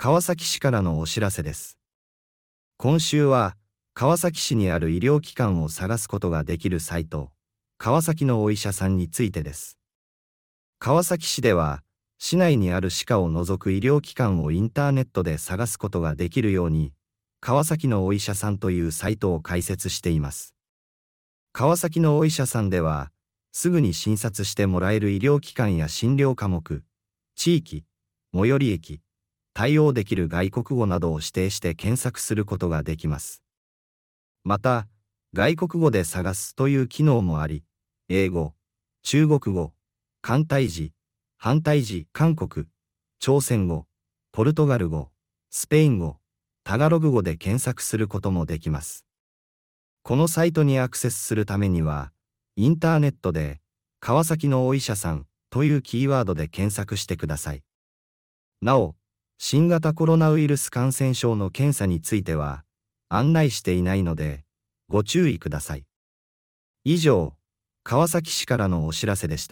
川崎市からのお知らせです。今週は、川崎市にある医療機関を探すことができるサイト、川崎のお医者さんについてです。川崎市では、市内にある歯科を除く医療機関をインターネットで探すことができるように、川崎のお医者さんというサイトを開設しています。川崎のお医者さんでは、すぐに診察してもらえる医療機関や診療科目、地域、最寄り駅、対応できる外国語などを指定して検索することができます。また、外国語で探すという機能もあり、英語、中国語、簡体字、繁体字、韓国、朝鮮語、ポルトガル語、スペイン語、タガログ語で検索することもできます。このサイトにアクセスするためには、インターネットで、川崎のお医者さんというキーワードで検索してください。なお、新型コロナウイルス感染症の検査については、案内していないので、ご注意ください。以上、川崎市からのお知らせでした。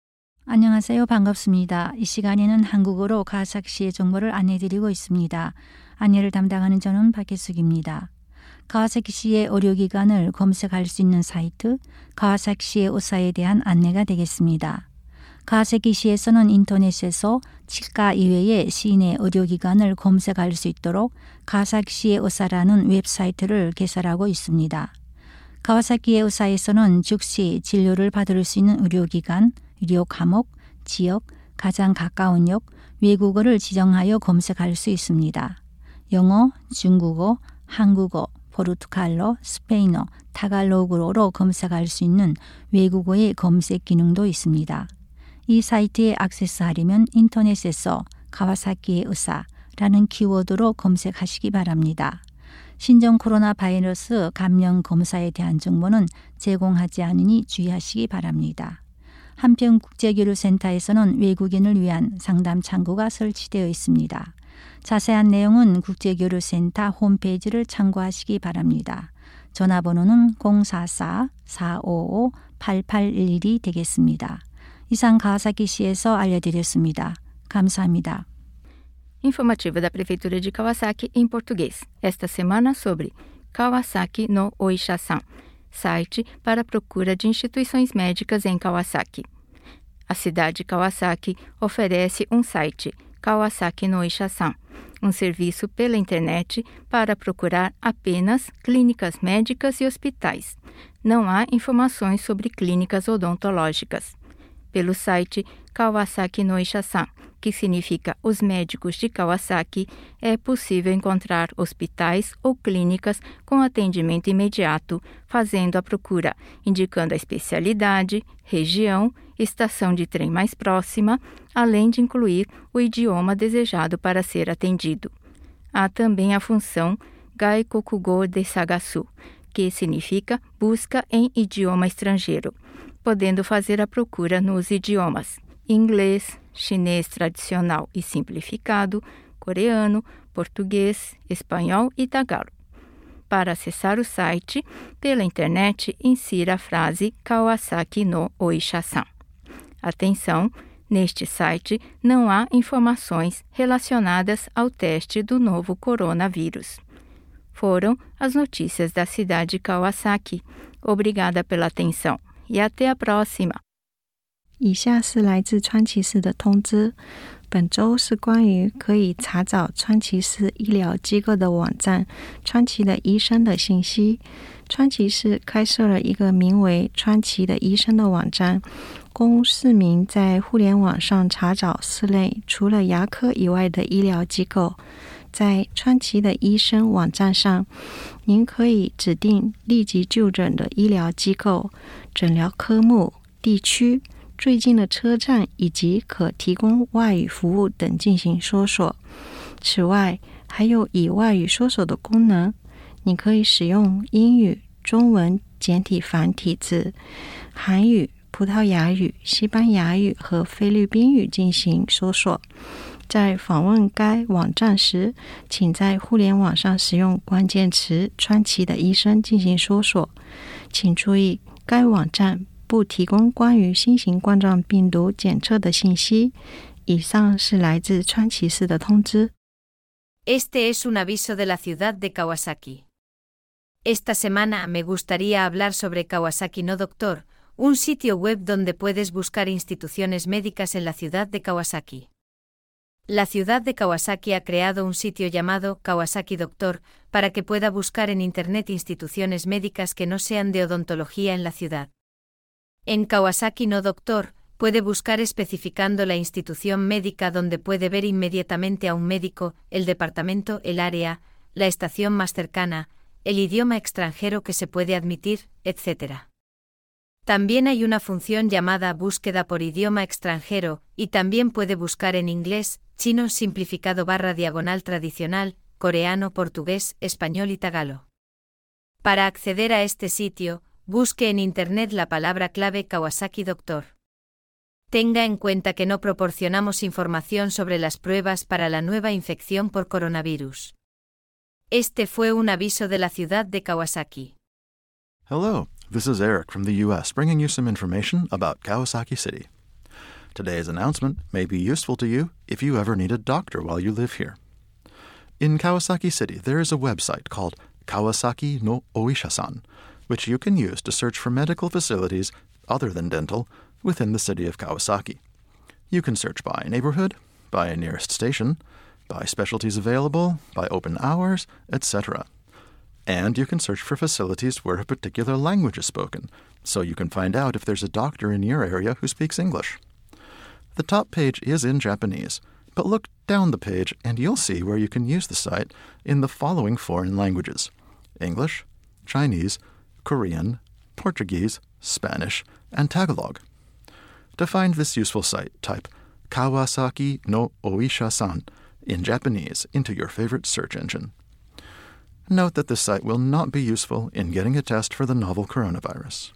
안녕하세요. 반갑습니다. 이 시간에는 한국어로 가와사키시의 정보를 안내드리고 있습니다. 안내를 담당하는 저는 박혜숙입니다. 가와사키시의 의료기관을 검색할 수 있는 사이트 가와사키시의 의사에 대한 안내가 되겠습니다. 가와사키시에서는 인터넷에서 치과 이외의 시내 의료기관을 검색할 수 있도록 가와사키시의 의사라는 웹사이트를 개설하고 있습니다. 가와사키의 의사에서는 즉시 진료를 받을 수 있는 의료기관, 의료 과목, 지역, 가장 가까운 역, 외국어를 지정하여 검색할 수 있습니다. 영어, 중국어, 한국어, 포르투갈어, 스페인어, 타갈로그어로 검색할 수 있는 외국어의 검색 기능도 있습니다. 이 사이트에 액세스하려면 인터넷에서 가와사키의 의사라는 키워드로 검색하시기 바랍니다. 신종 코로나 바이러스 감염 검사에 대한 정보는 제공하지 않으니 주의하시기 바랍니다. 한편 국제교류센터에서는 외국인을 위한 상담 창구가 설치되어 있습니다. 자세한 내용은 국제교류센터 홈페이지를 참고하시기 바랍니다. 전화번호는 044-455-8811이 되겠습니다. 이상 가와사키시에서 알려드렸습니다. 감사합니다. Informativa da Prefeitura de Kawasaki em português. Esta semana sobre Kawasaki no Oisha-san, site para procura de instituições médicas em Kawasaki. A cidade de Kawasaki oferece um site, Kawasaki no Oisha-san, um serviço pela internet para procurar apenas clínicas médicas e hospitais. Não há informações sobre clínicas odontológicas. Pelo site Kawasaki no Oisha-san, que significa os médicos de Kawasaki, é possível encontrar hospitais ou clínicas com atendimento imediato, fazendo a procura, indicando a especialidade, região, estação de trem mais próxima, além de incluir o idioma desejado para ser atendido. Há também a função Gaikokugo Desagasu, que significa busca em idioma estrangeiro, podendo fazer a procura nos idiomas inglês, chinês tradicional e simplificado, coreano, português, espanhol e tagalo. Para acessar o site, pela internet, insira a frase Kawasaki no Oisha-san. Atenção, neste site não há informações relacionadas ao teste do novo coronavírus. Foram as notícias da cidade de Kawasaki. Obrigada pela atenção e até a próxima. 以下是来自川崎市的通知，本周是关于可以查找川崎市医疗机构的网站川崎的医生的信息。川崎市开设了一个名为川崎的医生的网站，供市民在互联网上查找市内除了牙科以外的医疗机构。在川崎的医生网站上，您可以指定立即就诊的医疗机构、诊疗科目、地区、最近的车站以及可提供外语服务等进行搜索。此外，还有以外语搜索的功能，你可以使用英语、中文简体繁体字、韩语、葡萄牙语、西班牙语和菲律宾语进行搜索。在访问该网站时，请在互联网上使用关键词川崎的医生进行搜索。请注意，该网站不提供关于新型冠状病毒检测的信息。以上是来自川崎市的通知。 Este es un aviso de la ciudad de Kawasaki. Esta semana me gustaría hablar sobre Kawasaki no Doctor, un sitio web donde puedes buscar instituciones médicas en la ciudad de Kawasaki. La ciudad de Kawasaki ha creado un sitio llamado Kawasaki Doctor para que pueda buscar en Internet instituciones médicas que no sean de odontología en la ciudad. En Kawasaki no Doctor, puede buscar especificando la institución médica donde puede ver inmediatamente a un médico, el departamento, el área, la estación más cercana, el idioma extranjero que se puede admitir, etc. También hay una función llamada búsqueda por idioma extranjero, y también puede buscar en inglés, chino simplificado /diagonal tradicional, coreano, portugués, español y tagalo. Para acceder a este sitio, busque en Internet la palabra clave Kawasaki Doctor. Tenga en cuenta que no proporcionamos información sobre las pruebas para la nueva infección por coronavirus. Este fue un aviso de la ciudad de Kawasaki. Hello, this is Eric from the U.S. bringing you some information about Kawasaki City. Today's announcement may be useful to you if you ever need a doctor while you live here. In Kawasaki City, there is a website called Kawasaki no Oisha-san, which you can use to search for medical facilities other than dental within the city of Kawasaki. You can search by neighborhood, by nearest station, by specialties available, by open hours, etc. And you can search for facilities where a particular language is spoken, so you can find out if there's a doctor in your area who speaks English. The top page is in Japanese, but look down the page and you'll see where you can use the site in the following foreign languages: English, Chinese, Korean, Portuguese, Spanish, and Tagalog. To find this useful site, type Kawasaki no Oisha-san in Japanese into your favorite search engine. Note that this site will not be useful in getting a test for the novel coronavirus.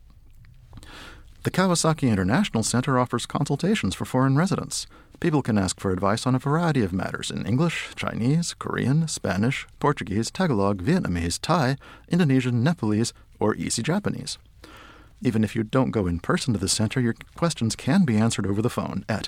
The Kawasaki International Center offers consultations for foreign residents. People can ask for advice on a variety of matters in English, Chinese, Korean, Spanish, Portuguese, Tagalog, Vietnamese, Thai, Indonesian, Nepalese, or Easy Japanese. Even if you don't go in person to the center, your questions can be answered over the phone at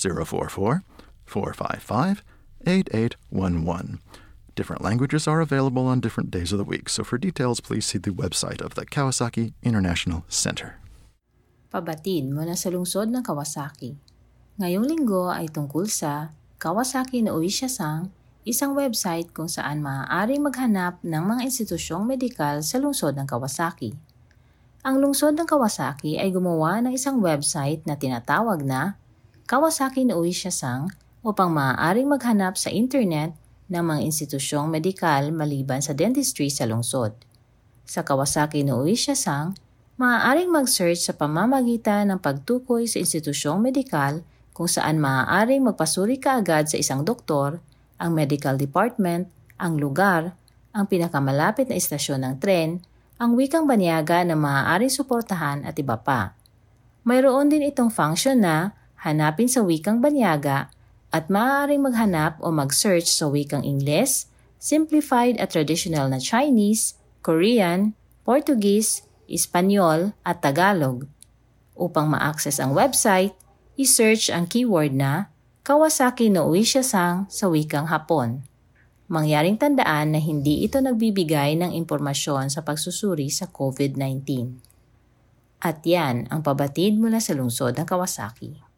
044-455-8811. Different languages are available on different days of the week, so for details, please see the website of the Kawasaki International Center. Pabatid mula sa lungsod ng Kawasaki. Ngayong linggo ay tungkol sa Kawasaki no Oisha-san, isang website kung saan maaaring maghanap ng mga institusyong medikal sa lungsod ng Kawasaki. Ang lungsod ng Kawasaki ay gumawa ng isang website na tinatawag na Kawasaki no Oisha-san upang maaaring maghanap sa internet ng mga institusyong medikal maliban sa dentistry sa lungsod. Sa Kawasaki no Oisha-san, maaaring mag-search sa pamamagitan ng pagtukoy sa institusyong medikal kung saan maaaring magpasuri kaagad sa isang doktor, ang medical department, ang lugar, ang pinakamalapit na istasyon ng tren, ang wikang banyaga na maaaring suportahan at iba pa. Mayroon din itong function na hanapin sa wikang banyaga at maaaring maghanap o mag-search sa wikang Ingles, simplified at traditional na Chinese, Korean, Portuguese, Espanyol at Tagalog. Upang ma-access ang website, i-search ang keyword na Kawasaki no Oisha-san sa wikang Hapon. Mangyaring tandaan na hindi ito nagbibigay ng impormasyon sa pagsusuri sa COVID-19. At yan ang pabatid mula sa lungsod ng Kawasaki.